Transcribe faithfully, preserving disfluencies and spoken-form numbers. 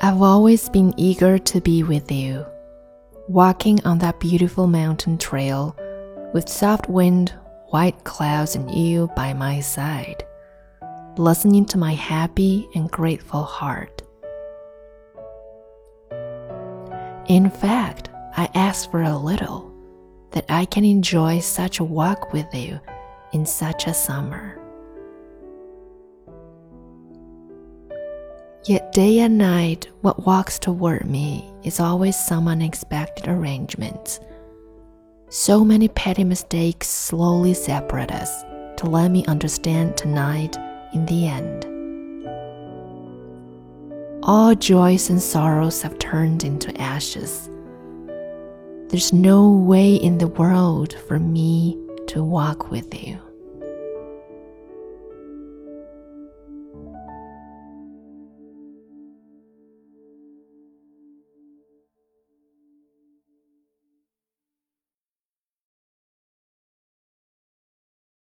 I've always been eager to be with you, walking on that beautiful mountain trail with soft wind, white clouds, and you by my side, listening to my happy and grateful heart. In fact, I ask for a little, that I can enjoy such a walk with you in such a summer. Yet day and night, what walks toward me is always some unexpected arrangements. So many petty mistakes slowly separate us to let me understand tonight in the end. All joys and sorrows have turned into ashes. There's no way in the world for me to walk with you.